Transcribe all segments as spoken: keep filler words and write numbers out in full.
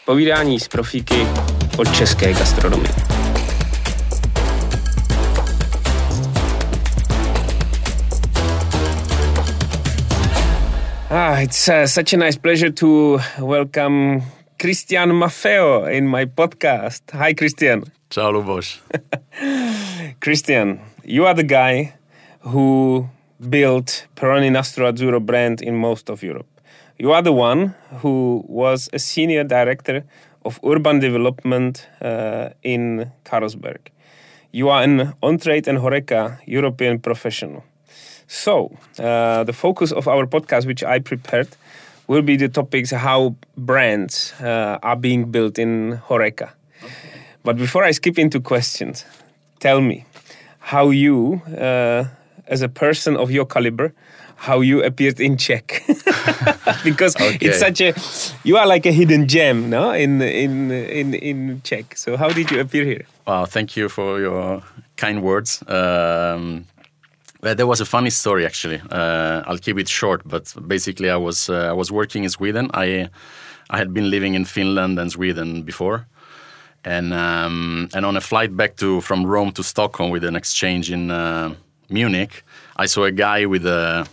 Povídání z profíky o české gastronomii. Ah, it's uh, such a nice pleasure to welcome Christian Maffeo in my podcast. Hi, Christian. Ciao, Luboš. Christian, you are the guy who built Peroni Nastro Azzurro brand in most of Europe. You are the one who was a senior director of urban development uh, in Carlsberg. You are an on-trade and HoReCa European professional. So, uh, the focus of our podcast, which I prepared, will be the topics how brands uh, are being built in HoReCa. Okay. But before I skip into questions, tell me how you, uh, as a person of your caliber, how you appeared in Czech. Because okay. It's such a, you are like a hidden gem, no, in in in in Czech. So how did you appear here? Wow, thank you for your kind words. Um, well, there was a funny story actually. Uh, I'll keep it short, but basically, I was uh, I was working in Sweden. I I had been living in Finland and Sweden before, and um, and on a flight back to from Rome to Stockholm with an exchange in uh, Munich, I saw a guy with a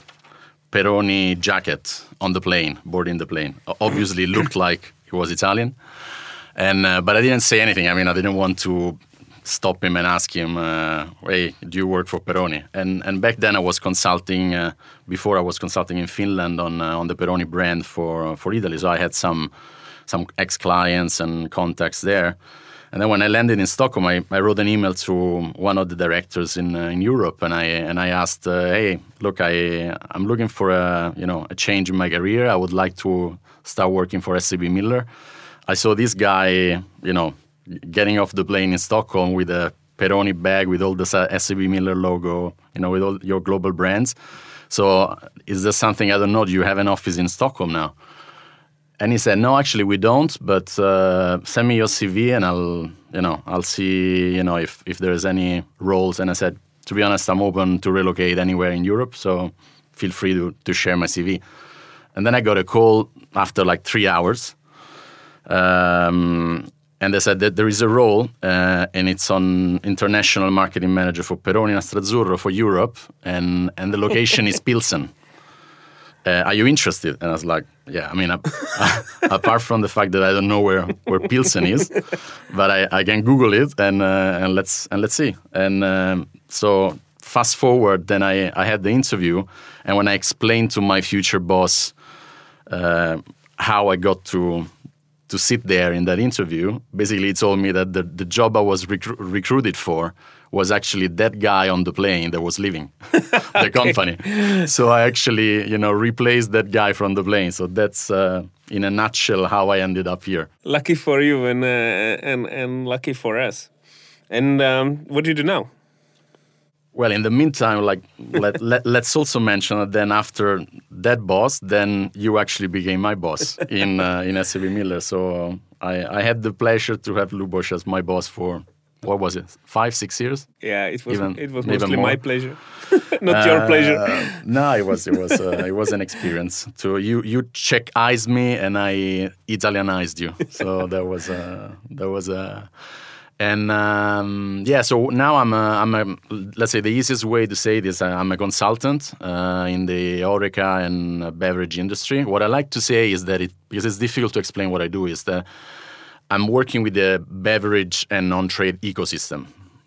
Peroni jacket on the plane, boarding the plane. Obviously looked like he was Italian, and uh, but I didn't say anything. I mean, I didn't want to stop him and ask him, uh, "Hey, do you work for Peroni?" And and back then I was consulting. Uh, before I was consulting in Finland on uh, on the Peroni brand for for Italy. So I had some some ex clients and contacts there. And then when I landed in Stockholm, I, I wrote an email to one of the directors in uh, in Europe, and I and I asked, uh, "Hey, look, I I'm looking for a you know a change in my career. I would like to start working for S A B Miller. I saw this guy, you know, getting off the plane in Stockholm with a Peroni bag with all the S A B Miller logo, you know, with all your global brands. So is there something I don't know? Do you have an office in Stockholm now?" And he said, "No, actually we don't, but uh, send me your C V and I'll, you know, I'll see, you know, if, if there's any roles." And I said, "To be honest, I'm open to relocate anywhere in Europe, so feel free to, to share my C V." And then I got a call after like three hours. Um, and they said that there is a role uh, and it's on international marketing manager for Peroni Nastro Azzurro for Europe. And, and the location is Pilsen. Uh, are you interested? And I was like, yeah, I mean, uh, apart from the fact that I don't know where, where Pilsen is, but I, I can Google it and uh, and let's and let's see. And um, so fast forward, then I, I had the interview, and when I explained to my future boss uh, how I got to to sit there in that interview, basically he told me that the, the job I was recru- recruited for was actually that guy on the plane that was leaving the company. So I actually, you know, replaced that guy from the plane. So that's, uh, in a nutshell, how I ended up here. Lucky for you and uh, and and lucky for us. And um, what do you do now? Well, in the meantime, like let, let, let's also mention that then after that boss, then you actually became my boss in uh, in S A B Miller. So I, I had the pleasure to have Luboš as my boss for, what was it, five, six years? Yeah, it was even, it was mostly more. my pleasure, not uh, your pleasure. No, it was it was uh, it was an experience. To you you Czechized me and I Italianized you. So that was a that was a. And um, yeah, so now I'm a, I'm a, let's say the easiest way to say this, I'm a consultant uh, in the HoReCa and beverage industry. What I like to say is that it, because it's difficult to explain what I do, is that I'm working with the beverage and non-trade ecosystem.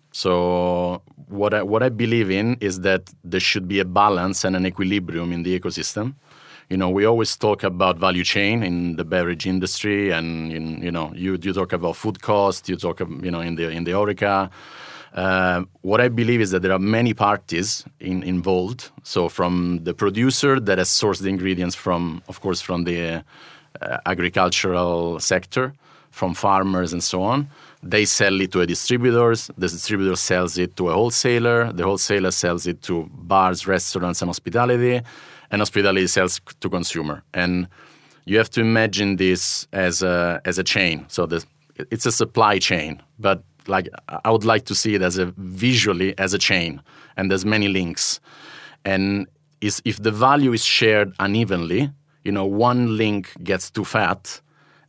So what I, what I believe in is that there should be a balance and an equilibrium in the ecosystem. You know, we always talk about value chain in the beverage industry, and in, you know, you you talk about food cost, you talk, you know, in the in the HoReCa. Uh, what I believe is that there are many parties in, involved. So from the producer that has sourced the ingredients from, of course, from the uh, agricultural sector, from farmers and so on. They sell it to a distributors. The distributor sells it to a wholesaler. The wholesaler sells it to bars, restaurants, and hospitality. And hospitality sells to consumer. And you have to imagine this as a as a chain. So the, it's a supply chain, but like I would like to see it as a visually as a chain, and there's many links. And is if the value is shared unevenly, you know, one link gets too fat,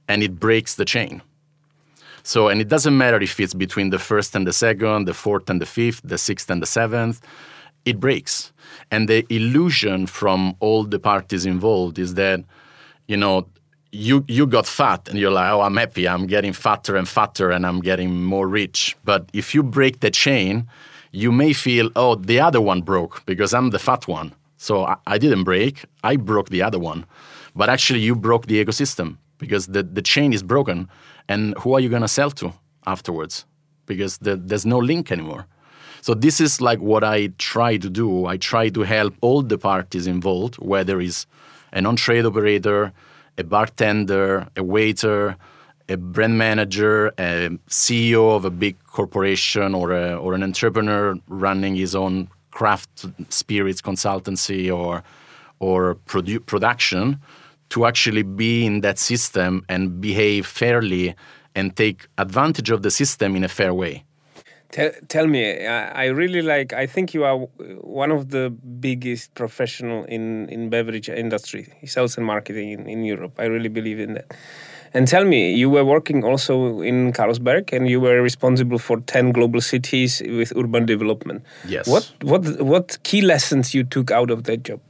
and it breaks the chain. So, and it doesn't matter if it's between the first and the second, the fourth and the fifth, the sixth and the seventh, it breaks. And the illusion from all the parties involved is that, you know, you you got fat and you're like, oh, I'm happy, I'm getting fatter and fatter and I'm getting more rich. But if you break the chain, you may feel, oh, the other one broke because I'm the fat one. So I, I didn't break, I broke the other one. But actually you broke the ecosystem because the, the chain is broken. And who are you going to sell to afterwards? Because the, there's no link anymore. So this is like what I try to do. I try to help all the parties involved, whether it's an on-trade operator, a bartender, a waiter, a brand manager, a C E O of a big corporation, or a, or an entrepreneur running his own craft spirits consultancy or or produ- production, to actually be in that system and behave fairly and take advantage of the system in a fair way. Tell, tell me, I, I really like, I think you are one of the biggest professional in, in beverage industry, sales and marketing in, in Europe. I really believe in that. And tell me, you were working also in Carlsberg and you were responsible for ten global cities with urban development. Yes. What, what, what key lessons you took out of that job?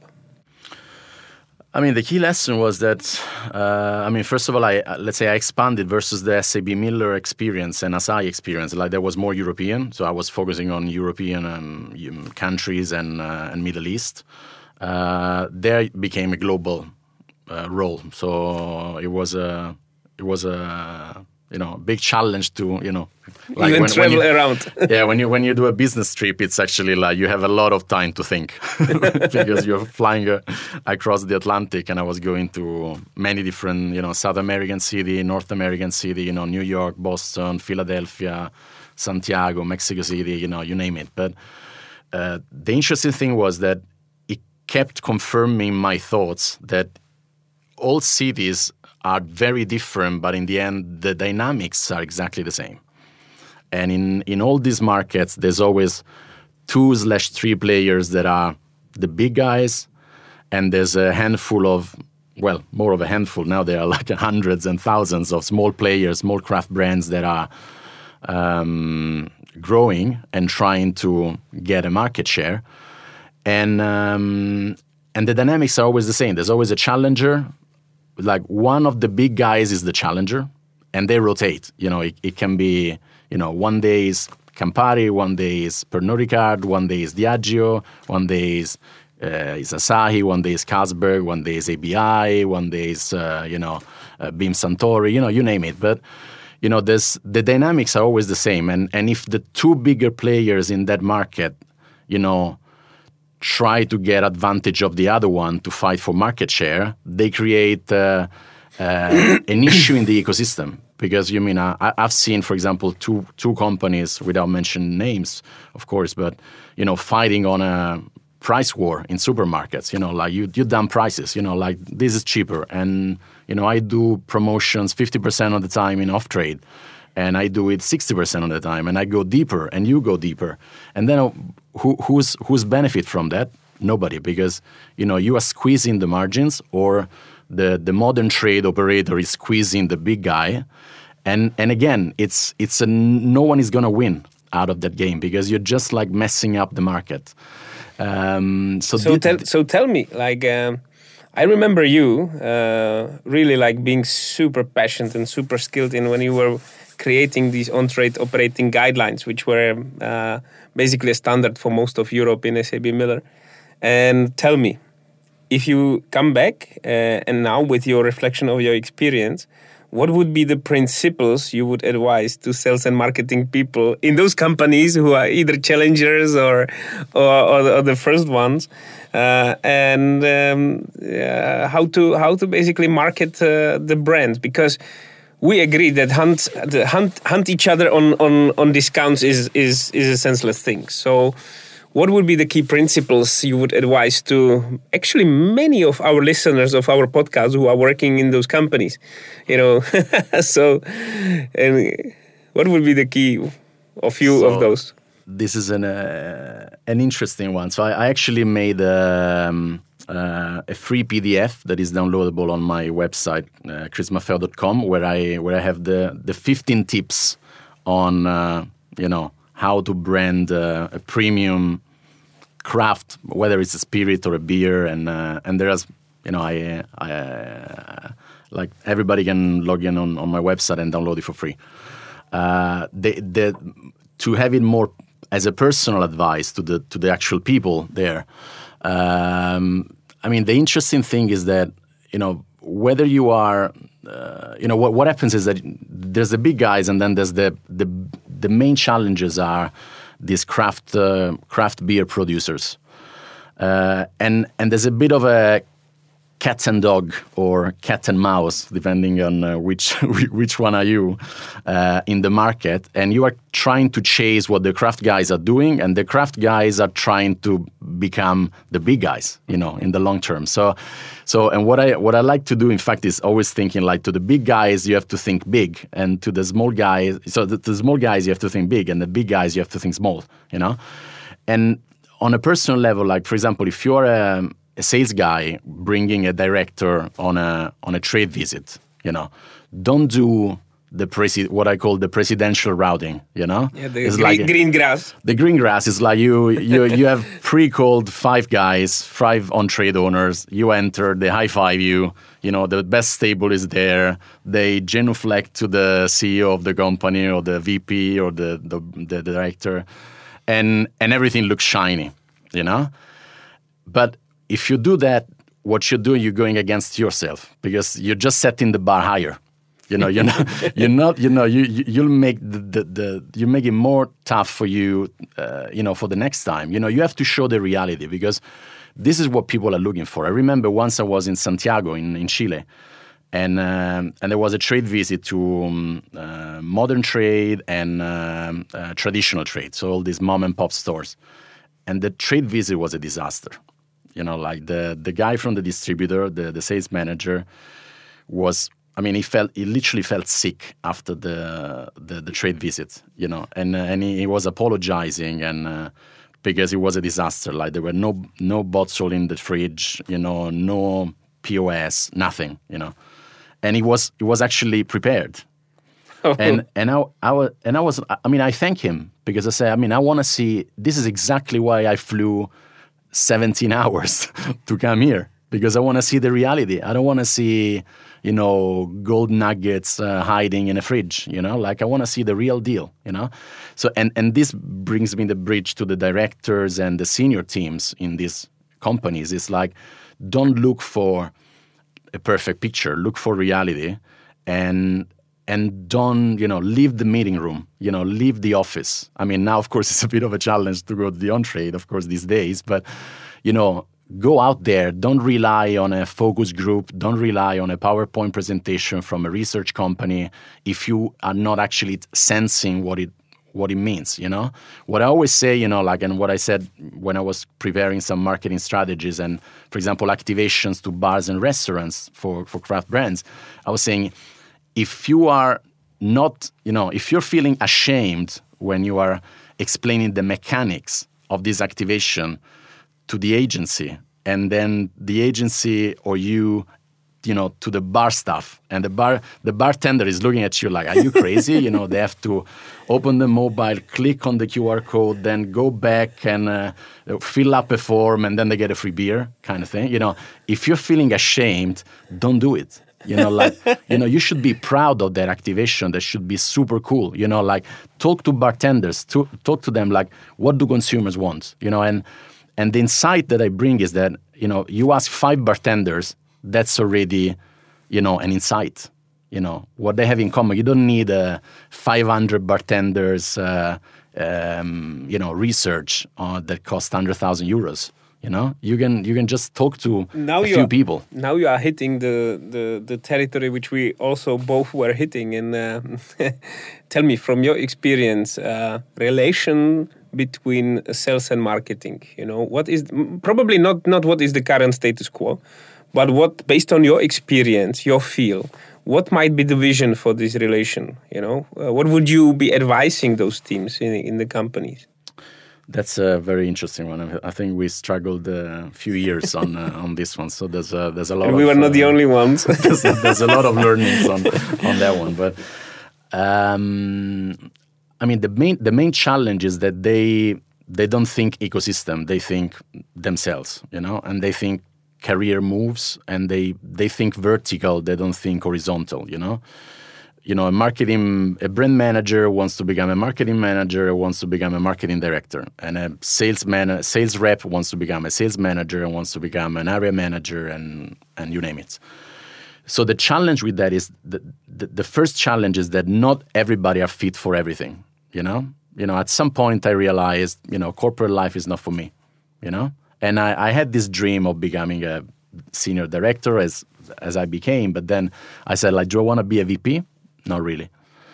I mean, the key lesson was that, uh, I mean, first of all, I let's say I expanded versus the S A B Miller experience and Asahi experience. Like, there was more European, so I was focusing on European um, countries and uh, and Middle East. Uh, there it became a global uh, role, so it was a it was a you know big challenge to you know like even when, travel when you, around. Yeah, when you when you do a business trip, it's actually like you have a lot of time to think because you're flying uh, across the Atlantic, and I was going to many different you know South American city, North American city, you know New York, Boston, Philadelphia, Santiago, Mexico City, you know you name it. But uh, the interesting thing was that it kept confirming my thoughts that all cities are very different, but in the end, the dynamics are exactly the same. And in, in all these markets, there's always two slash three players that are the big guys, and there's a handful of, well, more of a handful. Now there are like hundreds and thousands of small players, small craft brands that are um, growing and trying to get a market share. And um, and the dynamics are always the same. There's always a challenger. Like, one of the big guys is the challenger, and they rotate. You know, it, it can be, you know, one day is Campari, one day is Pernod Ricard, one day is Diageo, one day is, uh, is Asahi, one day is Carlsberg, one day is A B I, one day is, uh, you know, uh, Beam Suntory, you know, you name it. But, you know, there's, the dynamics are always the same. And, and if the two bigger players in that market, you know, try to get advantage of the other one to fight for market share, they create uh, uh, an issue in the ecosystem. Because, you mean, I, I've seen, for example, two two companies, without mentioning names, of course, but, you know, fighting on a price war in supermarkets. You know, like, you, you dump prices, you know, like, this is cheaper. And, you know, I do promotions fifty percent of the time in off-trade. And I do it sixty percent of the time, and I go deeper, and you go deeper. And then uh, who, who's who's benefit from that? Nobody, because, you know, you are squeezing the margins, or the, the modern trade operator is squeezing the big guy. And and again, it's it's a, no one is going to win out of that game, because you're just like messing up the market. Um, so so, th- tell, so tell me, like, um, I remember you uh, really like being super passionate and super skilled in when you were creating these on-trade operating guidelines, which were uh, basically a standard for most of Europe in S A B Miller. And tell me, if you come back uh, and now with your reflection of your experience, what would be the principles you would advise to sales and marketing people in those companies who are either challengers or or, or, the, or the first ones, uh, and um, uh, how to how to basically market uh, the brand? Because we agree that hunt the hunt hunt each other on, on, on discounts is, is is a senseless thing. So what would be the key principles you would advise to actually many of our listeners of our podcast who are working in those companies? You know, so and what would be the key of few so of those? This is an uh, an interesting one. So I, I actually made um, uh, a free P D F that is downloadable on my website, uh, chris maffeo dot com, where I where I have the the fifteen tips on uh, you know how to brand uh, a premium craft, whether it's a spirit or a beer, and uh, and there's you know I, I uh, like everybody can log in on, on my website and download it for free. Uh, the the to have it more as a personal advice to the to the actual people there. Um, I mean, the interesting thing is that you know whether you are, uh, you know, what what happens is that there's the big guys, and then there's the the the main challenges are these craft uh, craft beer producers, uh, and and there's a bit of a cat and dog or cat and mouse, depending on uh, which which one are you uh, in the market, and you are trying to chase what the craft guys are doing, and the craft guys are trying to become the big guys, you know, in the long term. So, so and what I what I like to do, in fact, is always thinking like to the big guys you have to think big, and to the small guys, so the, the small guys you have to think big, and the big guys you have to think small, you know, and on a personal level, like for example, if you're a a sales guy bringing a director on a on a trade visit, you know, don't do the presi- what I call the presidential routing, you know. Yeah, the it's green, like green grass. The green grass is like you you you have pre-called five guys, five on-trade owners. You enter, they high-five you. You know, the best table is there. They genuflect to the C E O of the company or the V P or the the, the director, and and everything looks shiny, you know. But if you do that, what you're doing, you're going against yourself because you're just setting the bar higher. You know, you're not, you're not, you know, you, you you'll make the, the, the you make it more tough for you, uh, you know, for the next time. You know, you have to show the reality because this is what people are looking for. I remember once I was in Santiago in, in Chile, and um, and there was a trade visit to um, uh, modern trade and um, uh, traditional trade, so all these mom and pop stores, and the trade visit was a disaster. You know, like the, the guy from the distributor, the, the sales manager, was, I mean, he felt, he literally felt sick after the the, the trade visit, you know, and uh, and he, he was apologizing and uh, because it was a disaster. Like there were no no bottle in the fridge, you know, no P O S, nothing, you know, and he was he was actually prepared. and and I, I was and I was I mean I thank him because I said I mean I want to see, this is exactly why I flew seventeen hours to come here, because I want to see the reality. I don't want to see, you know, gold nuggets uh, hiding in a fridge, you know, like I want to see the real deal, you know. So, and, and this brings me the bridge to the directors and the senior teams in these companies. It's like, don't look for a perfect picture, look for reality, and and don't, you know, leave the meeting room, you know, leave the office. I mean, now, of course, it's a bit of a challenge to go to the on-trade, of course, these days. But, you know, go out there. Don't rely on a focus group. Don't rely on a PowerPoint presentation from a research company if you are not actually sensing what it what it means, you know? What I always say, you know, like, and what I said when I was preparing some marketing strategies and, for example, activations to bars and restaurants for, for craft brands, I was saying, if you are not, you know, if you're feeling ashamed when you are explaining the mechanics of this activation to the agency, and then the agency or you, you know, to the bar staff, and the bar, the bartender is looking at you like, are you crazy? You know, they have to open the mobile, click on the Q R code, then go back and uh, fill up a form, and then they get a free beer kind of thing. You know, if you're feeling ashamed, don't do it. You know, like, you know, you should be proud of that activation. That should be super cool. You know, like, talk to bartenders, to, talk to them like, what do consumers want? You know, and and the insight that I bring is that, you know, you ask five bartenders, that's already, you know, an insight. You know, what they have in common. You don't need uh, five hundred bartenders, uh, um, you know, research uh, that costs one hundred thousand euros. You know, you can you can just talk to now a few are, people. Now you are hitting the, the, the territory which we also both were hitting. And uh, tell me, from your experience, uh, relation between sales and marketing. You know, what is probably not not what is the current status quo, but what, based on your experience, your feel, what might be the vision for this relation? You know, uh, what would you be advising those teams in in the companies? That's a very interesting one. I think we struggled a few years on uh, on this one. So there's a, there's a lot. And of, we were not uh, the only ones. there's, there's a lot of learnings on on that one. But um, I mean, the main the main challenge is that they they don't think ecosystem. They think themselves, you know, and they think career moves, and they they think vertical. They don't think horizontal, you know. You know, a marketing, a brand manager wants to become a marketing manager, wants to become a marketing director, and a salesman, a sales rep wants to become a sales manager and wants to become an area manager, and and you name it. So the challenge with that is the, the the first challenge is that not everybody are fit for everything. You know, you know. At some point, I realized, you know, corporate life is not for me. You know, and I, I had this dream of becoming a senior director as as I became, but then I said, like, do I want to be a V P? Not really.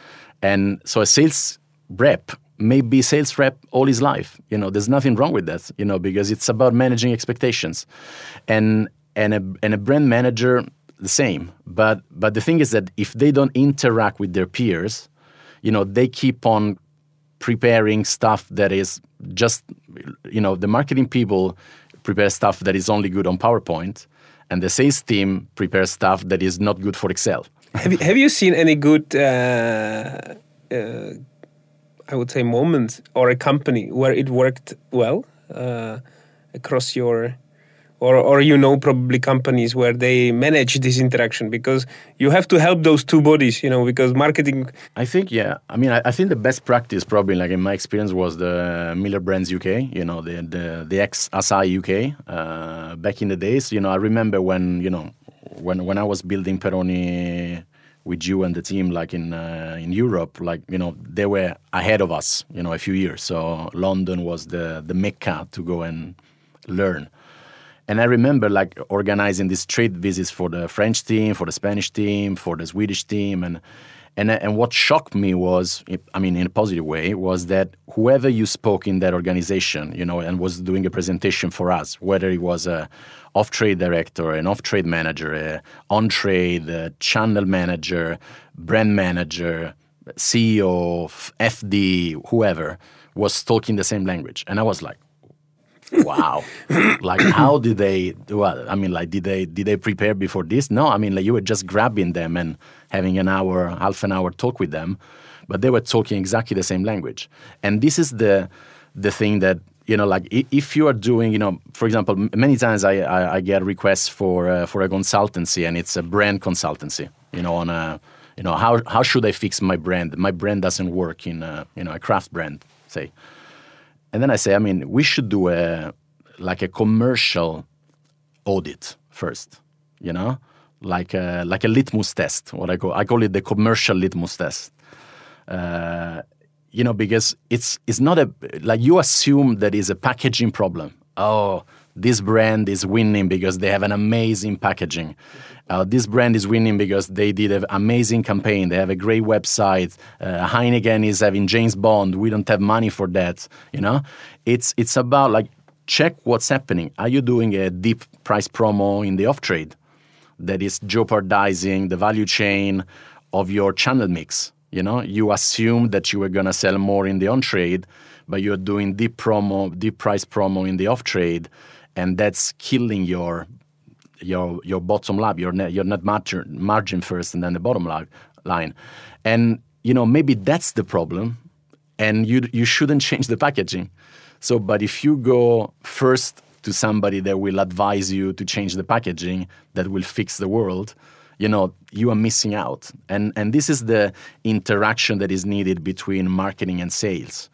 And so a sales rep may be sales rep all his life. You know, there's nothing wrong with that, you know, because it's about managing expectations. And and a and a brand manager, the same. But but the thing is that if they don't interact with their peers, you know, they keep on preparing stuff that is just, you know, the marketing people prepare stuff that is only good on PowerPoint, and the sales team prepares stuff that is not good for Excel. Have you, have you seen any good, uh, uh, I would say, moment or a company where it worked well uh, across your, or or you know probably companies where they manage this interaction, because you have to help those two bodies, you know, because marketing. I think yeah. I mean, I, I think the best practice probably, like in my experience, was the Miller Brands U K. You know, the the the ex Asahi U K uh, back in the days. You know, I remember when you know. When when I was building Peroni with you and the team, like in uh, in Europe, like, you know, they were ahead of us, you know, a few years. So London was the the mecca to go and learn. And I remember like organizing these trade visits for the French team, for the Spanish team, for the Swedish team, and and and what shocked me was, I mean, in a positive way, was that whoever you spoke in that organization, you know, and was doing a presentation for us, whether it was a off-trade director, an off-trade manager, a on-trade, a channel manager, brand manager, C E O, F D, whoever, was talking the same language. And I was like, wow. Like, how did they do it? I mean, like, did they did they prepare before this? No, I mean, like, you were just grabbing them and having an hour, half an hour talk with them, but they were talking exactly the same language. And this is the the thing that, you know, like, if you are doing, you know, for example, many times I I, I get requests for uh, for a consultancy, and it's a brand consultancy, you know, on a, you know, how how should I fix my brand? My brand doesn't work in a, you know, a craft brand, say. And then I say, I mean, we should do a like a commercial audit first, you know, like a, like a litmus test. What I call I call it the commercial litmus test. Uh, you know, because it's it's not a like you assume that is a packaging problem. Oh, this brand is winning because they have an amazing packaging. Uh, this brand is winning because they did an amazing campaign. They have a great website. Uh, Heineken is having James Bond. We don't have money for that. You know, it's it's about like check what's happening. Are you doing a deep price promo in the off trade that is jeopardizing the value chain of your channel mix? You know, you assume that you were gonna sell more in the on trade, but you're doing deep promo, deep price promo in the off trade, and that's killing your your your bottom line, your net your net margin, margin first, and then the bottom line. And you know, maybe that's the problem, and you you shouldn't change the packaging. So, but if you go first to somebody that will advise you to change the packaging, that will fix the world, you know, you are missing out. And and this is the interaction that is needed between marketing and sales.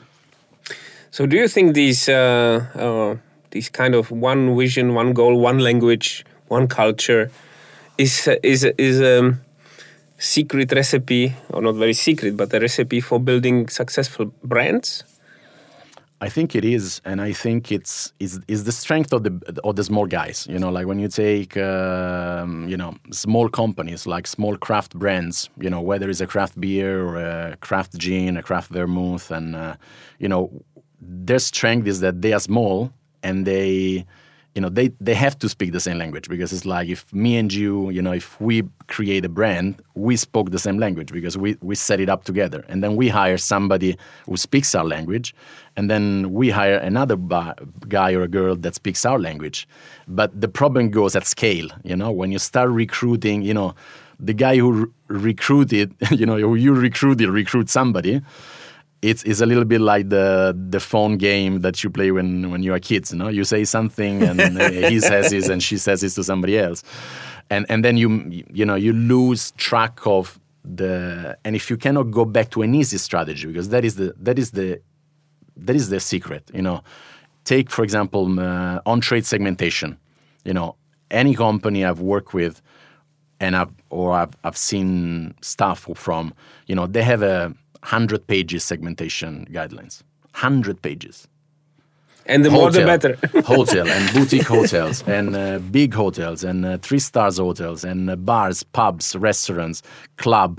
So, do you think these uh, uh, these kind of one vision, one goal, one language, one culture is uh, is is a um, secret recipe, or not very secret, but a recipe for building successful brands? I think it is, and I think it's is is the strength of the of the small guys. You know, like when you take um, you know, small companies like small craft brands. You know, whether it's a craft beer or a craft gin, a craft vermouth, and uh, you know, their strength is that they are small and they, you know, they, they have to speak the same language, because it's like if me and you, you know, if we create a brand, we spoke the same language because we, we set it up together. And then we hire somebody who speaks our language, and then we hire another ba- guy or a girl that speaks our language. But the problem goes at scale, you know, when you start recruiting, you know, the guy who re- recruited, you know, who you recruited, recruit somebody. It's, it's a little bit like the the phone game that you play when, when you are kids. You know, you say something and he says this and she says this to somebody else, and and then you you know you lose track of the. And if you cannot go back to an easy strategy, because that is the that is the that is the secret. You know, take for example uh, on-trade segmentation. You know, any company I've worked with, and I've or I've I've seen stuff from. You know, they have a hundred pages segmentation guidelines. Hundred pages. And the more the better. Hotel and boutique hotels and uh, big hotels and uh, three stars hotels and uh, bars, pubs, restaurants, club,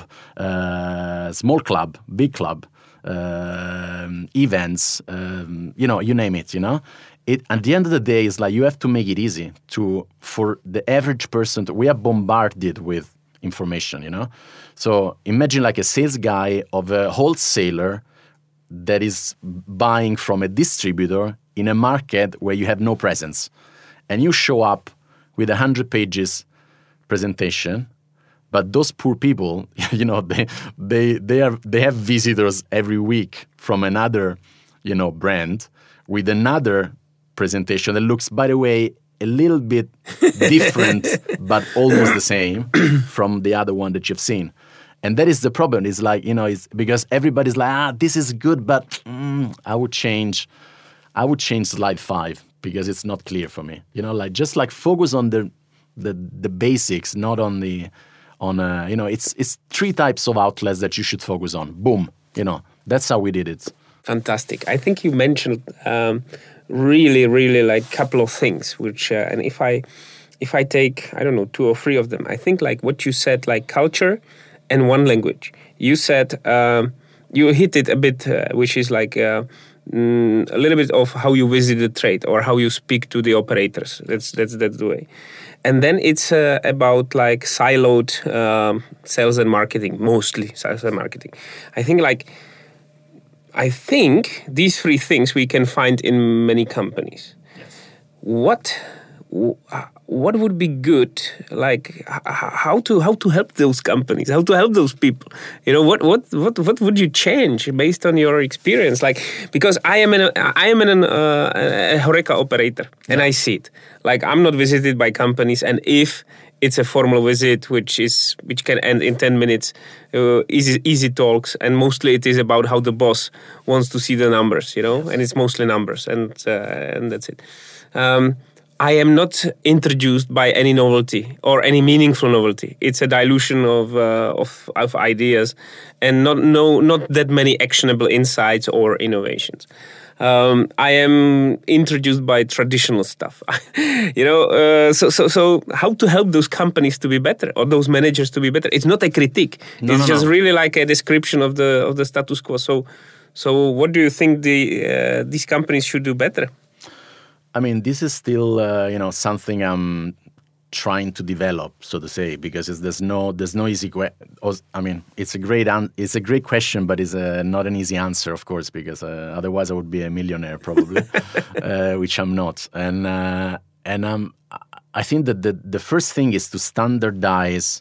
uh, small club, big club, uh, events. Um, you know, you name it. You know, it. At the end of the day, it's like you have to make it easy to for the average person. To, we are bombarded with information. You know. So imagine like a sales guy of a wholesaler that is buying from a distributor in a market where you have no presence. And you show up with a hundred pages presentation, but those poor people, you know, they they they are they have visitors every week from another, you know, brand with another presentation that looks, by the way, a little bit different, but almost the same from the other one that you've seen. And that is the problem. It's like, you know, it's because everybody's like, ah, this is good, but mm, I would change, I would change slide five because it's not clear for me. You know, like just like focus on the the the basics, not on the on uh, you know, it's it's three types of outlets that you should focus on. Boom, you know, that's how we did it. Fantastic. I think you mentioned um, really, really like couple of things, which uh, and if I if I take I don't know two or three of them, I think like what you said, like culture. And one language. You said um, you hit it a bit, uh, which is like uh, mm, a little bit of how you visit the trade or how you speak to the operators. That's that's that's the way. And then it's uh, about like siloed um, sales and marketing, mostly sales and marketing. I think like I think these three things we can find in many companies. Yes. What? What would be good, like how to how to help those companies, how to help those people? You know, what what what what would you change based on your experience? Like, because I am an I am an uh, a HoReCa operator, and yeah. I see it. Like, I'm not visited by companies, and if it's a formal visit, which is which can end in ten minutes, uh, easy easy talks, and mostly it is about how the boss wants to see the numbers, you know, and it's mostly numbers, and uh, and that's it. Um, I am not introduced by any novelty or any meaningful novelty. It's a dilution of uh, of, of ideas, and not no not that many actionable insights or innovations. Um, I am introduced by traditional stuff, you know. Uh, so so so how to help those companies to be better or those managers to be better? It's not a critique. No, it's no, just no. really like a description of the of the status quo. So so what do you think the uh, these companies should do better? I mean, this is still, uh, you know, something I'm trying to develop, so to say, because it's, there's no there's no easy. Que- I mean, it's a great an- it's a great question, but it's a, not an easy answer, of course, because uh, otherwise I would be a millionaire probably, uh, which I'm not. And uh, and um, I think that the the first thing is to standardize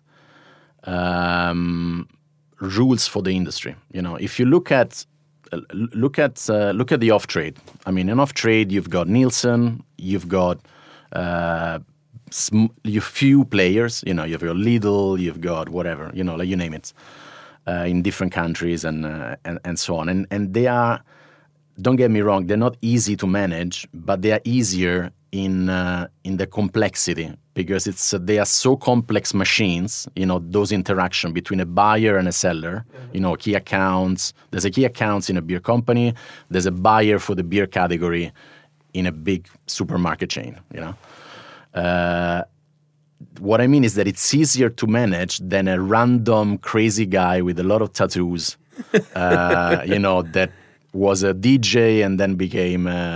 um, rules for the industry. You know, if you look at Look at uh, look at the off trade. I mean, in off trade, you've got Nielsen, you've got uh, sm- you few players. You know, you've got Lidl, you've got whatever. You know, like you name it, uh, in different countries and, uh, and and so on. And and they are, don't get me wrong, they're not easy to manage, but they are easier in uh, in the complexity, because it's uh, they are so complex machines. You know, those interaction between a buyer and a seller. Mm-hmm. You know, key accounts. There's a key accounts in a beer company. There's a buyer for the beer category in a big supermarket chain. You know, uh, what I mean is that it's easier to manage than a random crazy guy with a lot of tattoos. uh, you know, that was a D J and then became. Uh,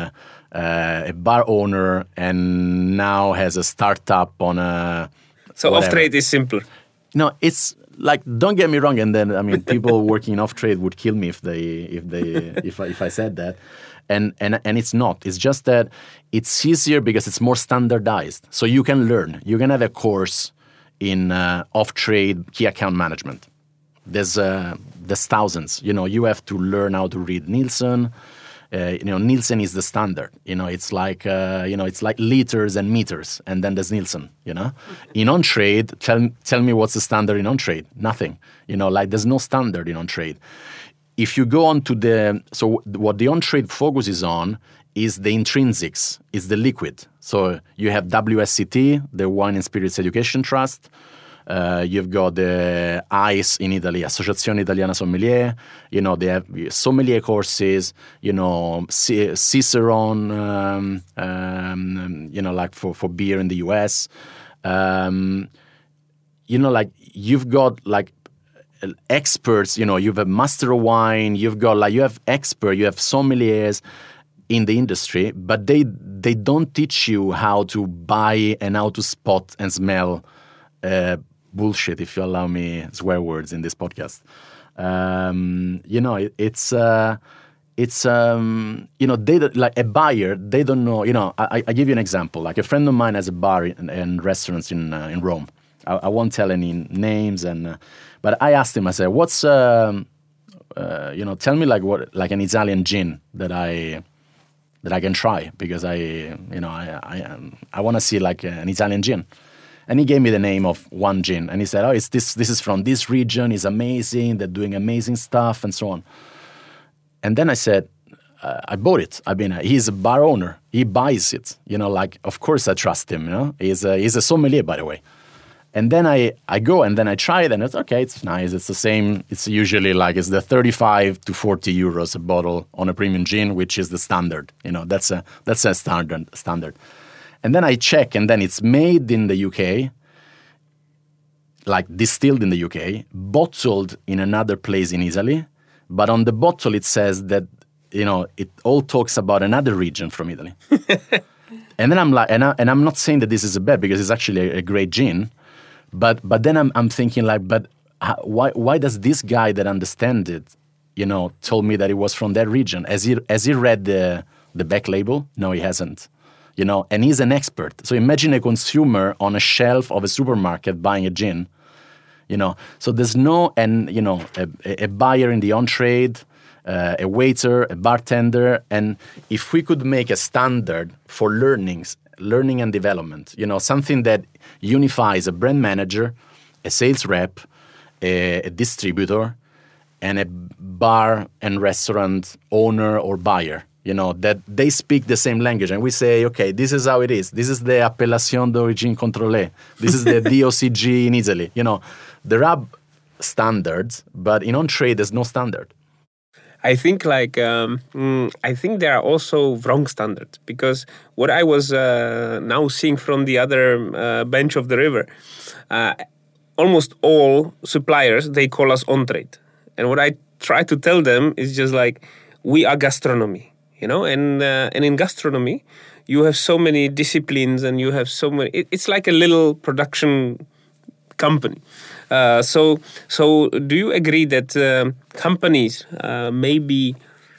uh, a bar owner, and now has a startup on a. So whatever. Off trade is simpler. No, it's like, don't get me wrong, and then I mean people working in off trade would kill me if they if they if I, if I said that, and and and it's not. It's just that it's easier because it's more standardized. So you can learn. You can have a course in uh, off trade key account management. There's uh, there's thousands. You know, you have to learn how to read Nielsen. Uh, you know, Nielsen is the standard. You know, it's like uh, you know, it's like liters and meters, and then there's Nielsen. You know, in on trade, tell tell me what's the standard in on trade? Nothing. You know, like there's no standard in on trade. If you go on to the so what the on trade focuses on is the intrinsics, is the liquid. So you have W S C T, the Wine and Spirits Education Trust. Uh, you've got the I C E in Italy, Associazione Italiana Sommelier. You know, they have sommelier courses, you know, C- Cicerone, um, um, you know, like for, for beer in the U S. Um, you know, like you've got like experts, you know, you have a master of wine, you've got like, you have expert, you have sommeliers in the industry, but they they don't teach you how to buy and how to spot and smell uh, bullshit, if you allow me swear words in this podcast. Um, you know, it, it's uh, it's um, you know, they like a buyer, they don't know. You know, I, I give you an example. Like a friend of mine has a bar and, and restaurants in uh, in Rome. I, I won't tell any names, and uh, but I asked him. I said, "What's um, uh, you know, tell me like what like an Italian gin that I." that I can try, because I, you know, I I, um, I want to see like an Italian gin. And he gave me the name of one gin, and he said, oh, it's this, this is from this region, it's amazing, they're doing amazing stuff, and so on. And then I said, uh, I bought it. I mean, he's a bar owner, he buys it, you know, like, of course I trust him, you know, he's a, he's a sommelier, by the way. And then I, I go and then I try it, and it's okay, it's nice. It's the same. It's usually like it's the thirty-five to forty euros a bottle on a premium gin, which is the standard. You know, that's a that's a standard standard. And then I check, and then it's made in the U K, like distilled in the U K, bottled in another place in Italy, but on the bottle it says that, you know, it all talks about another region from Italy. And then I'm like, and, I, and I'm not saying that this is a bad, because it's actually a, a great gin. But but then I'm I'm thinking like, but how, why why does this guy that understands it, you know, told me that it was from that region? Has he has he read the the back label? No, he hasn't. You know, and he's an expert. So imagine a consumer on a shelf of a supermarket buying a gin. You know, so there's no, and you know, a, a buyer in the on trade, uh, a waiter, a bartender, and if we could make a standard for learnings. Learning and development, you know, something that unifies a brand manager, a sales rep, a, a distributor, and a bar and restaurant owner or buyer, you know, that they speak the same language. And we say, okay, this is how it is. This is the Appellation d'Origine Contrôlée. This is the D O C G in Italy. You know, there are standards, but in on-trade, there's no standard. I think like um, mm, I think there are also wrong standards, because what I was uh, now seeing from the other uh, bench of the river, uh, almost all suppliers, they call us on trade, and what I try to tell them is just like, we are gastronomy, you know, and uh, and in gastronomy you have so many disciplines, and you have so many. It, it's like a little production company. Uh, so, so do you agree that uh, companies uh, maybe,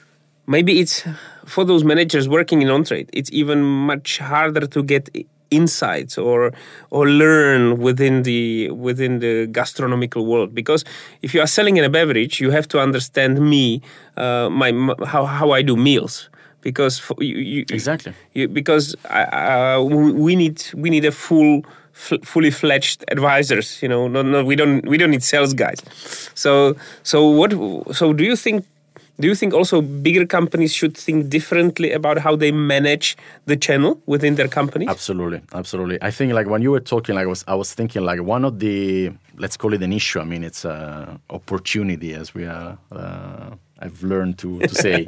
maybe it's for those managers working in on-trade, it's even much harder to get insights or or learn within the within the gastronomical world, because if you are selling in a beverage, you have to understand me, uh, my, my how how I do meals. Because for, you, you, exactly you, because uh, we need we need a full. F- fully fledged advisors, you know. No, no, we don't. We don't need sales guys. So, so what? So, do you think? Do you think also bigger companies should think differently about how they manage the channel within their company? Absolutely, absolutely. I think like when you were talking, like I was, I was thinking like one of the, let's call it an issue. I mean, it's an opportunity, as we are. Uh, I've learned to to say,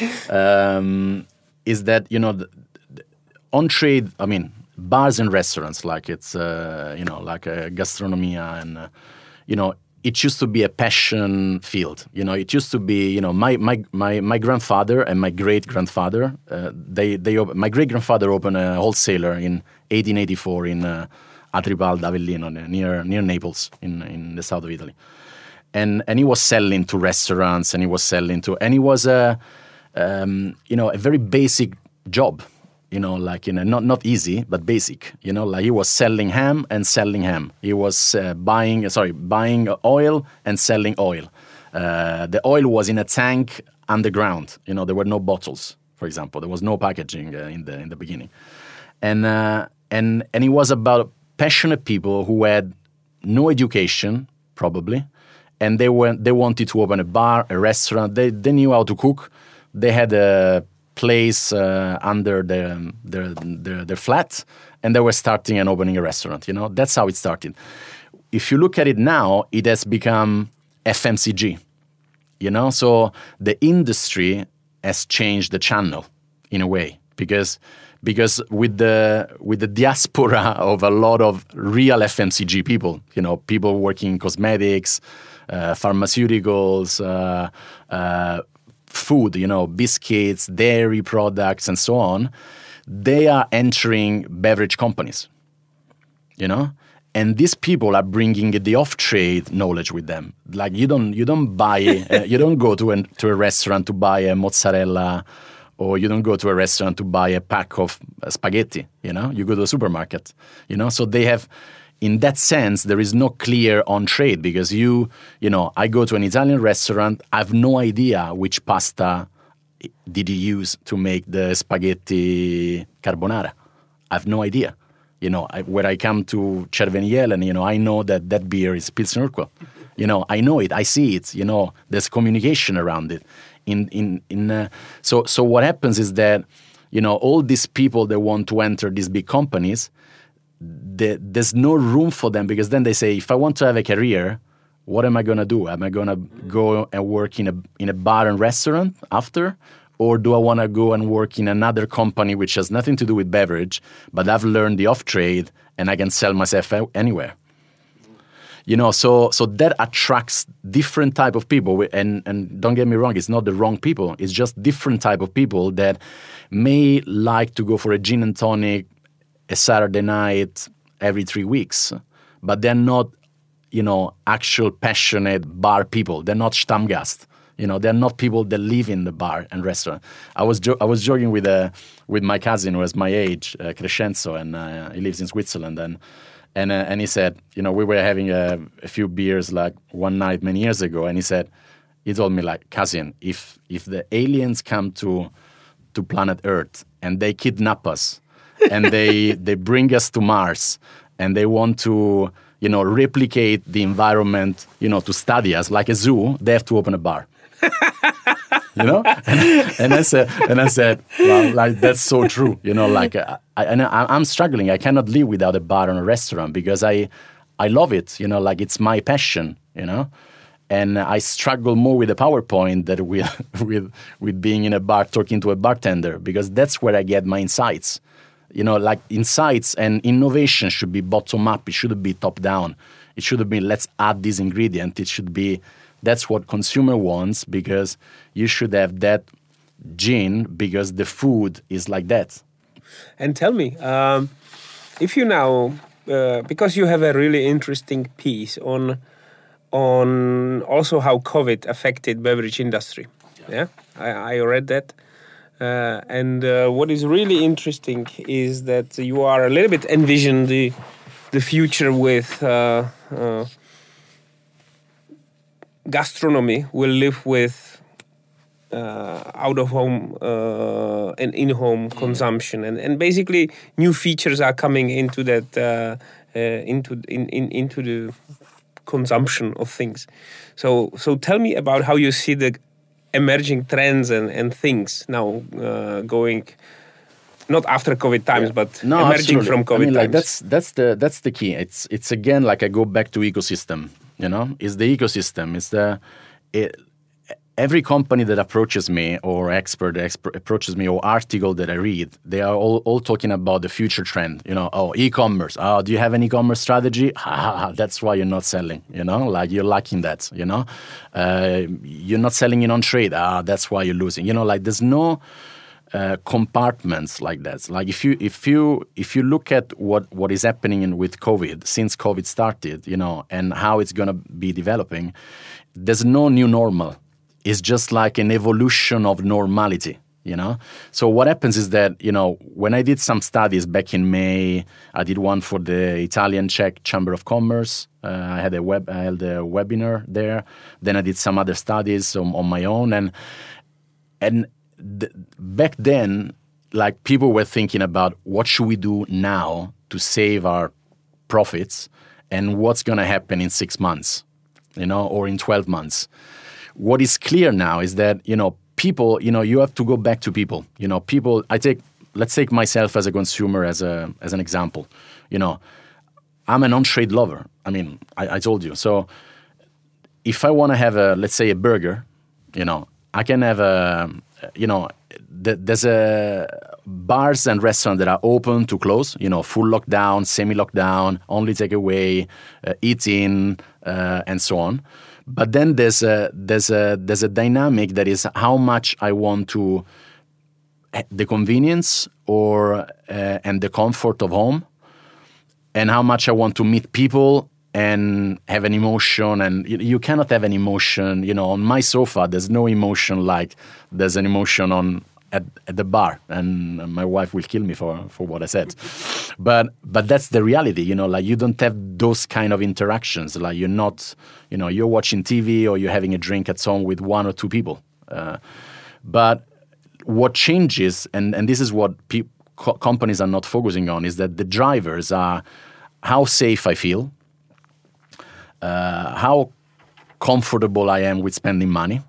um, is that you know, the, the on trade. I mean. Bars and restaurants, like it's uh, you know, like a gastronomia, and uh, you know, it used to be a passion field. You know, it used to be, you know, my my my, my grandfather and my great grandfather. Uh, they they op- my great grandfather opened a wholesaler in eighteen eighty-four in uh, Atripalda, Avellino, near near Naples, in in the south of Italy, and and he was selling to restaurants, and he was selling to, and he was a um, you know a very basic job. You know, like, you know, not, not easy, but basic. You know, like he was selling ham and selling ham. He was uh, buying, sorry, buying oil and selling oil. Uh, the oil was in a tank underground. You know, there were no bottles, for example. There was no packaging uh, in the in the beginning, and uh, and and it was about passionate people who had no education, probably, and they were they wanted to open a bar, a restaurant. They they knew how to cook. They had a place uh, under their, their their their flat, and they were starting and opening a restaurant. You know, that's how it started. If you look at it now, it has become F M C G. You know, so the industry has changed the channel in a way, because because with the with the diaspora of a lot of real F M C G people, you know, people working in cosmetics, uh, pharmaceuticals, uh, uh, food, you know, biscuits, dairy products, and so on, they are entering beverage companies, you know, and these people are bringing the off-trade knowledge with them. Like you don't you don't buy uh, you don't go to a to a restaurant to buy a mozzarella, or you don't go to a restaurant to buy a pack of uh, spaghetti. You know, you go to a supermarket. You know, so they have. In that sense, there is no clear on trade, because you, you know, I go to an Italian restaurant, I have no idea which pasta did he use to make the spaghetti carbonara. I have no idea. You know, I, where I come to Cervenielen, you know, I know that that beer is Pilsner Urquell. You know, I know it, I see it. You know, there's communication around it. In in in. Uh, so so what happens is that, you know, all these people that want to enter these big companies, The, there's no room for them, because then they say, if I want to have a career, what am I going to do? Am I going to go and work in a in a bar and restaurant after? Or do I want to go and work in another company which has nothing to do with beverage, but I've learned the off-trade and I can sell myself anywhere? You know, so so that attracts different type of people. And, and don't get me wrong, it's not the wrong people. It's just different type of people that may like to go for a gin and tonic a Saturday night every three weeks, but they're not, you know, actual passionate bar people. They're not Stammgast. You know, they're not people that live in the bar and restaurant. I was jo- I was joking with uh, with my cousin who has my age, uh, Crescenzo, and uh, he lives in Switzerland, and and uh, and he said, you know, we were having a, a few beers like one night many years ago, and he said, he told me, like, cousin, if if the aliens come to to planet Earth and they kidnap us, and they they bring us to Mars, and they want to, you know, replicate the environment, you know, to study us like a zoo, they have to open a bar. You know, and, and I said, and I said, well, like, that's so true. You know, like, I, I, and I, I'm struggling. I cannot live without a bar and a restaurant, because I, I love it. You know, like, it's my passion. You know, and I struggle more with the PowerPoint than with with with being in a bar talking to a bartender, because that's where I get my insights. You know, like, insights and innovation should be bottom up. It shouldn't be top down. It should have been, let's add this ingredient. It should be, that's what consumer wants, because you should have that gene, because the food is like that. And tell me, um, if you now, uh, because you have a really interesting piece on on also how COVID affected beverage industry. Yeah, yeah? I, I read that. Uh, and uh, what is really interesting is that you are a little bit envision the the future with uh, uh, gastronomy will live with uh, out of home uh, and in home mm. consumption, and and basically new features are coming into that uh, uh, into in, in into the consumption of things. So so tell me about how you see the emerging trends and, and things now uh, going, not after COVID times, yeah. but no, emerging absolutely. from COVID I mean, like, times. That's that's the that's the key. It's it's again, like, I go back to ecosystem. You know, it's the ecosystem. It's the it, every company that approaches me or expert, expert approaches me or article that I read, they are all, all talking about the future trend. You know, oh, e-commerce. Oh, do you have an e-commerce strategy? Ha, ha, ha, that's why you're not selling. You know, like you're lacking that. You know, uh, you're not selling in on trade. Ah, that's why you're losing. You know, like there's no uh, compartments like that. Like if you if you if you look at what what is happening in, with COVID since COVID started, you know, and how it's gonna be developing, there's no new normal. Is just like an evolution of normality, you know? So what happens is that, you know, when I did some studies back in May, I did one for the Italian Czech Chamber of Commerce. Uh, I had a web, I held a webinar there. Then I did some other studies on, on my own. And and th- back then, like people were thinking about what should we do now to save our profits and what's going to happen in six months, you know, or in twelve months. What is clear now is that, you know, people, you know, you have to go back to people. You know, people, I take, let's take myself as a consumer as a as an example. You know, I'm an on-trade lover. I mean, I, I told you. So if I want to have a, let's say a burger, you know, I can have a, you know, th- there's a bars and restaurants that are open to close, you know, full lockdown, semi-lockdown, only takeaway, uh, eat-in, uh, and so on. But then there's a there's a there's a dynamic that is how much I want to the convenience or uh, and the comfort of home, and how much I want to meet people and have an emotion. And you, you cannot have an emotion, you know, on my sofa. There's no emotion like there's an emotion on at, at the bar, and my wife will kill me for, for what I said. But but that's the reality, you know, like you don't have those kind of interactions. Like you're not, you know, you're watching T V or you're having a drink at home with one or two people. Uh, but what changes, and, and this is what pe- co- companies are not focusing on, is that the drivers are how safe I feel, uh, how comfortable I am with spending money,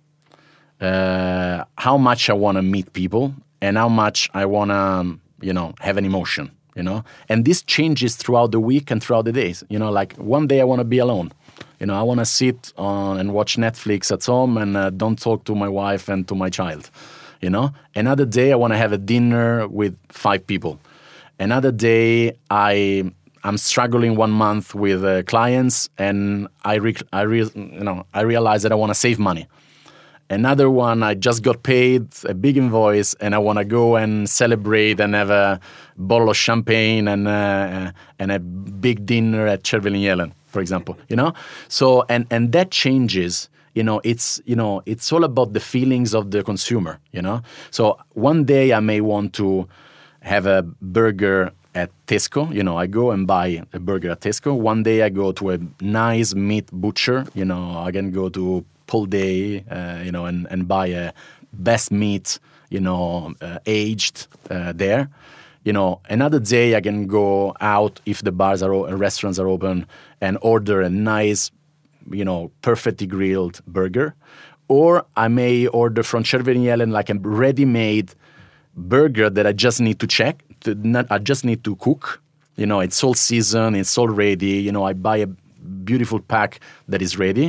Uh, how much I want to meet people, and how much I want to, you know, have an emotion, you know. And this changes throughout the week and throughout the days. You know, like one day I want to be alone. You know, I want to sit on and watch Netflix at home and uh, don't talk to my wife and to my child. You know, another day I want to have a dinner with five people. Another day I I'm struggling one month with uh, clients, and I re- I re- you know I realize that I want to save money. Another one, I just got paid a big invoice, and I want to go and celebrate and have a bottle of champagne and uh, and a big dinner at Cervelin Jelen, for example. You know, so and and that changes. You know, it's you know it's all about the feelings of the consumer. You know, so one day I may want to have a burger at Tesco. You know, I go and buy a burger at Tesco. One day I go to a nice meat butcher. You know, I can go to Pull Day, uh, you know, and, and buy a best meat, you know, uh, aged uh, there. You know, another day I can go out if the bars are o- restaurants are open and order a nice, you know, perfectly grilled burger. Or I may order from Cervelin Jelen like a ready-made burger that I just need to check. To not, I just need to cook. You know, it's all seasoned, it's all ready. You know, I buy a beautiful pack that is ready.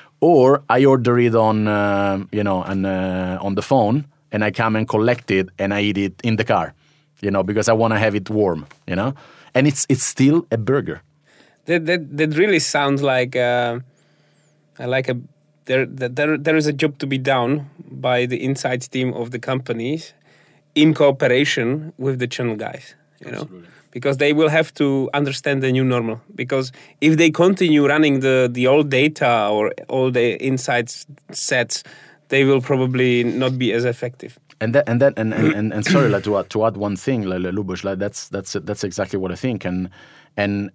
Or I order it on, uh, you know, on, uh, on the phone, and I come and collect it, and I eat it in the car, you know, because I want to have it warm, you know, and it's it's still a burger. That that that really sounds like uh, like a there there there is a job to be done by the insights team of the companies in cooperation with the channel guys, you know. Absolutely. Because they will have to understand the new normal. Because if they continue running the, the old data or all the insights sets, they will probably not be as effective. And that and that and and, and, and sorry, like, to add to add one thing, like, Lubos, like that's that's that's exactly what I think. And and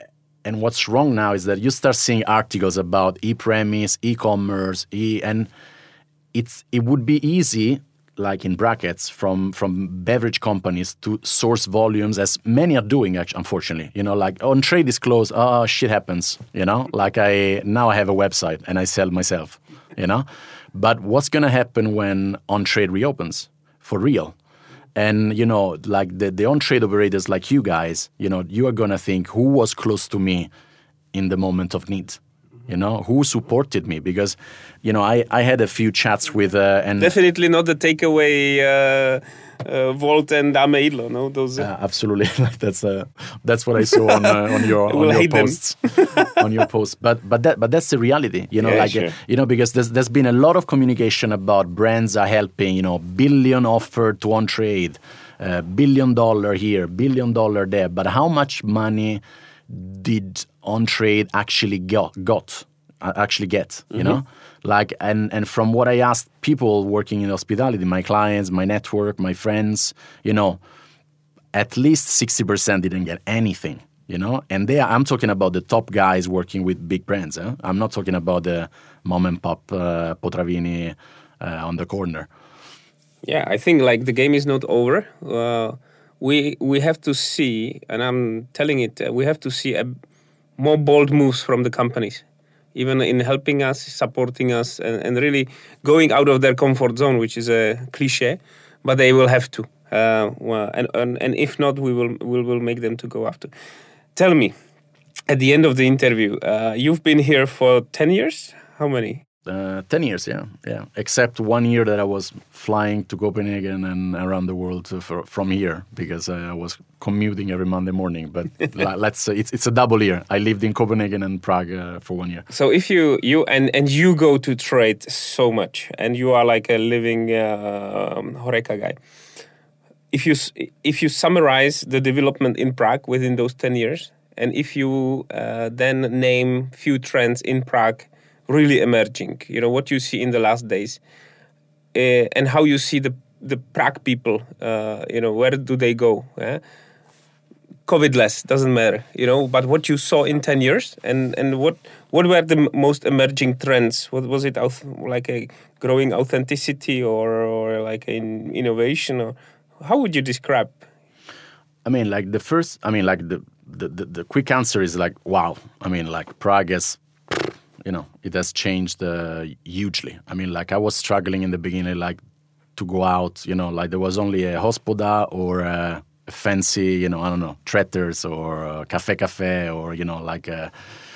and what's wrong now is that you start seeing articles about e-premise, e-commerce, e and it's it would be easy, like in brackets, from from beverage companies to source volumes, as many are doing, actually, unfortunately. You know, like, on trade is closed, oh, shit happens, you know? Like, I now I have a website and I sell myself, you know? But what's going to happen when on-trade reopens, for real? And, you know, like, the, the on-trade operators like you guys, you know, you are going to think, who was close to me in the moment of need? You know, who supported me? Because, you know, I, I had a few chats with... Uh, and Definitely not the takeaway uh, uh, Volt and Ameilo, no? Those, uh... Uh, absolutely. that's uh, that's what I saw on uh, on your on your posts. on your posts. But but that but that's the reality, you know, yeah, like sure. uh, you know, because there's there's been a lot of communication about brands are helping, you know, billion offer to on trade, uh, billion dollar here, billion dollar there. But how much money did on trade actually got got uh, actually get, you mm-hmm. know? Like, and, and from what I asked people working in hospitality, my clients, my network, my friends, you know, at least sixty percent didn't get anything, you know? And they, I'm talking about the top guys working with big brands. Eh? I'm not talking about the mom and pop uh, Potravini uh, on the corner. Yeah, I think like the game is not over. Uh, we we have to see, and I'm telling it, uh, we have to see a, more bold moves from the companies. Even in helping us, supporting us, and, and really going out of their comfort zone, which is a cliche, but they will have to. Uh, well, and, and and if not, we will we will make them to go after. Tell me, at the end of the interview, uh, you've been here for ten years? How many? Uh, ten years, yeah, yeah. Except one year that I was flying to Copenhagen and around the world for, from here because I was commuting every Monday morning. But let's uh, it's it's a double year. I lived in Copenhagen and Prague uh, for one year. So if you you and and you go to trade so much, and you are like a living uh, Horeca guy. If you if you summarize the development in Prague within those ten years, and if you uh, then name few trends in Prague really emerging, you know, what you see in the last days, uh, and how you see the the Prague people, uh, you know, where do they go? Eh? COVID-less, doesn't matter, you know, but what you saw in ten years, and, and what what were the most emerging trends? What was it, like a growing authenticity or, or like an innovation? Or how would you describe? I mean, like the first, I mean, like the, the, the, the quick answer is like, wow. I mean, like Prague has... You know, it has changed uh, hugely. I mean, like I was struggling in the beginning, like to go out, you know, like there was only a Hospoda or a fancy, you know, I don't know, Tretters or uh, Cafe Cafe or, you know, like uh,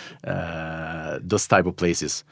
uh, those type of places.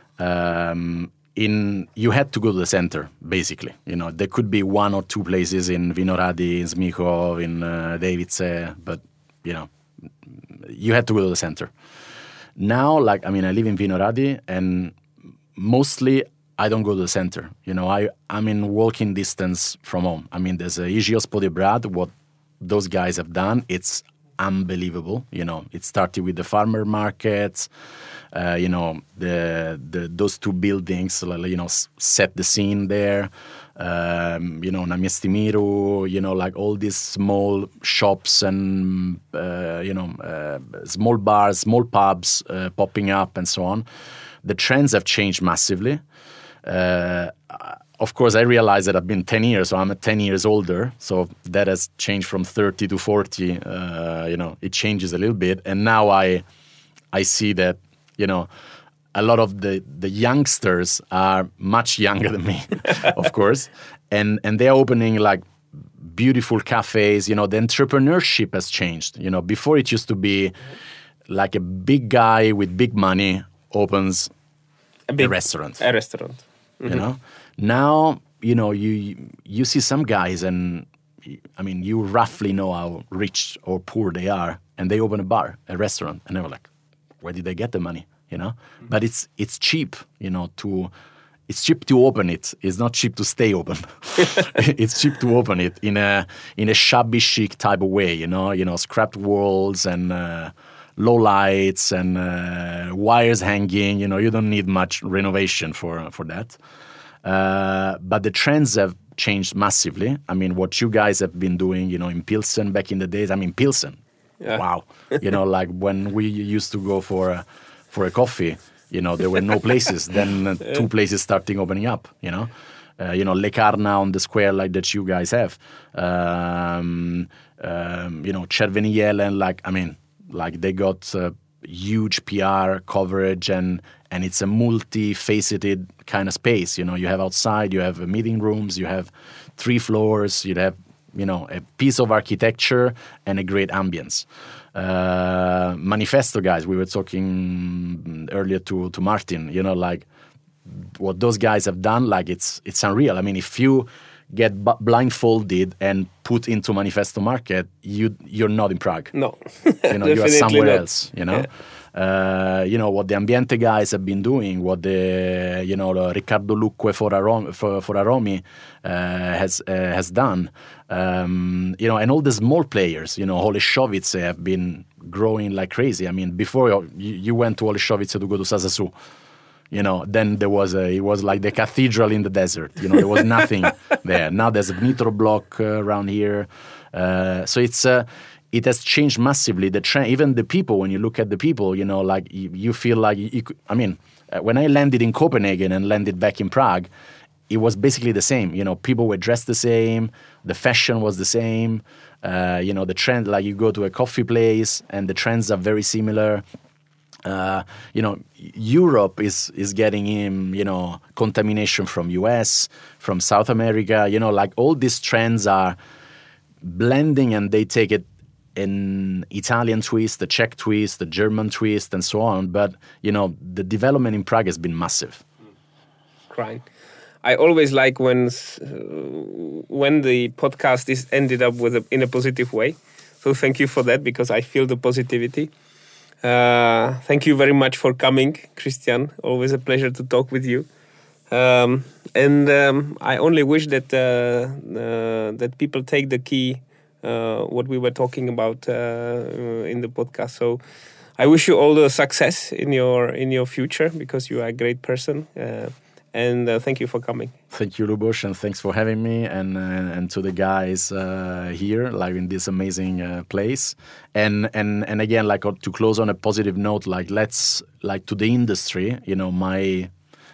Um, in you had to go to the center, basically. You know, there could be one or two places in Vinohrady, in Zmichov, in uh, Davice, but, you know, you had to go to the center. Now, like, I mean, I live in Vinohrady, and mostly I don't go to the center. You know, I, I'm in walking distance from home. I mean, there's a Iži Hospody Brad, what those guys have done, it's unbelievable. You know, it started with the farmer markets, uh, you know, the, the those two buildings, you know, set the scene there. Um, you know, Na Mieście Miru, you know, like all these small shops and, uh, you know, uh, small bars, small pubs uh, popping up and so on. The trends have changed massively. Uh, of course, I realize that I've been ten years, so I'm ten years older. So that has changed from thirty to forty. Uh, you know, it changes a little bit. And now I, I see that, you know, a lot of the, the youngsters are much younger than me, of course, and and they're opening like beautiful cafes. You know, the entrepreneurship has changed. You know, before it used to be like a big guy with big money opens a, big, a restaurant. A restaurant. Mm-hmm. You know, now you know you you see some guys, and I mean, you roughly know how rich or poor they are, and they open a bar, a restaurant, and they were like, where did they get the money? You know, mm-hmm. But it's it's cheap, you know, to it's cheap to open it. It's not cheap to stay open. It's cheap to open it in a in a shabby chic type of way, you know, you know, scrapped walls and uh, low lights and uh, wires hanging. You know, you don't need much renovation for for that. Uh, but the trends have changed massively. I mean, what you guys have been doing, you know, in Pilsen back in the days. I mean, Pilsen. Yeah. Wow. You know, like when we used to go for a, for a coffee, you know, there were no places. Then uh, two places starting opening up, you know. Uh, you know, Lekarna on the square like that you guys have. Um, um, you know, Červený Jelen, like, I mean, like they got uh, huge P R coverage and and it's a multi-faceted kind of space. You know, you have outside, you have uh, meeting rooms, you have three floors, you have, you know, a piece of architecture and a great ambience. uh, Manifesto guys. We were talking earlier to to Martin. You know, like what those guys have done. Like it's it's unreal. I mean, if you get b- blindfolded and put into Manifesto market, you you're not in Prague. No, you know, you are somewhere not. else. You know. Yeah. Uh, you know what the Ambiente guys have been doing, what the you know the Riccardo Lucque for Aromi, for, for Aromi uh, has uh, has done. Um, you know, and all the small players, you know, Holešovice have been growing like crazy. I mean, before you, you went to Holešovice to go to Sazasu, you know, then there was a, it was like the cathedral in the desert. You know, there was nothing there. Now there's a Nitro block uh, around here, uh, so it's. Uh, It has changed massively. The trend, even the people. When you look at the people, you know, like you, you feel like. You, you, I mean, uh, when I landed in Copenhagen and landed back in Prague, it was basically the same. You know, people were dressed the same. The fashion was the same. Uh, you know, the trend. Like you go to a coffee place, and the trends are very similar. Uh, you know, Europe is is getting in. You know, contamination from U S, from South America. You know, like all these trends are blending, and they take it. An Italian twist, the Czech twist, the German twist, and so on. But, you know, the development in Prague has been massive. Right. I always like when uh, when the podcast is ended up with a, in a positive way. So thank you for that, because I feel the positivity. Uh, thank you very much for coming, Christian. Always a pleasure to talk with you. Um, and um, I only wish that uh, uh, that people take the key. Uh, what we were talking about uh, in the podcast. So I wish you all the success in your in your future, because you are a great person. Uh, and uh, thank you for coming. Thank you, Lubos, and thanks for having me, and uh, and to the guys uh, here, like in this amazing uh, place. And and and again, like to close on a positive note, like let's like to the industry, you know, my.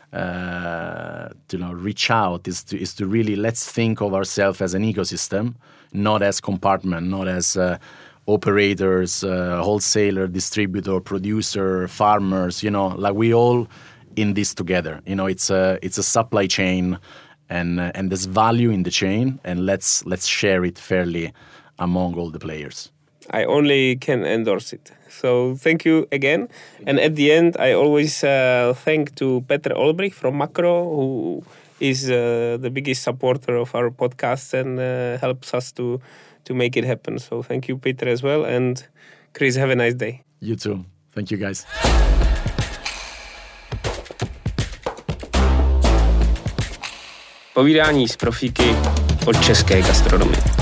Uh, you know, reach out is to is to really let's think of ourselves as an ecosystem, not as compartment, not as uh, operators, uh, wholesaler, distributor, producer, farmers. You know, like we all in this together. You know, it's a it's a supply chain, and uh, and there's value in the chain, and let's let's share it fairly among all the players. I only can endorse it. So thank you again. And at the end, I always uh, thank to Petr Olbrich from Makro, who is uh, the biggest supporter of our podcast and uh, helps us to to make it happen. So thank you, Petr, as well. And Chris, have a nice day. You too. Thank you, guys. Povídání s profíky od české gastronomie.